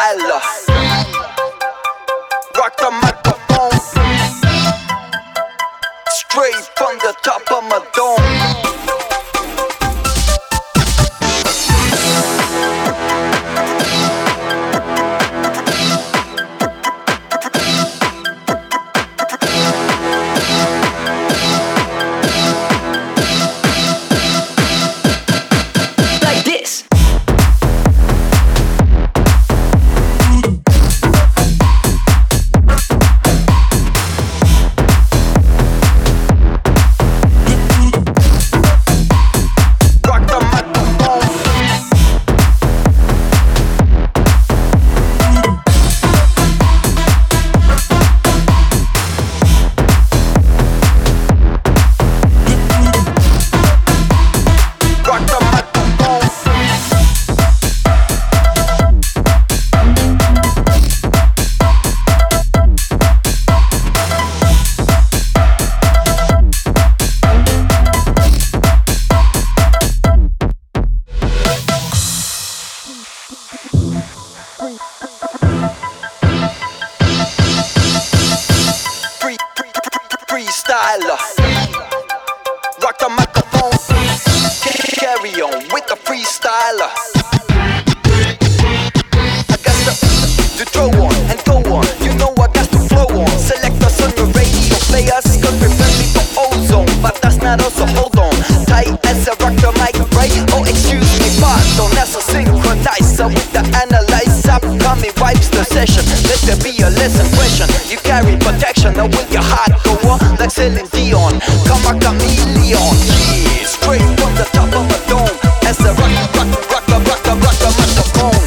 freestyler. Rock the microphone, straight from the top of my dome. Freestyler, rock the microphone, carry on with the freestyler. I got to throw on and go on, you know I got to flow on. Select us on your radio, play us, cause we're friendly for ozone. But that's not us, so hold on tight as I rock the mic, right? Oh, excuse me, pardon, that's a synchronizer with the analyzer. Coming wipes the session, let there be a lesson question. You carry protection, or will your heart go on like Celine Dion? Come a chameleon, yeah, straight from the top of a dome. As I rock the microphone.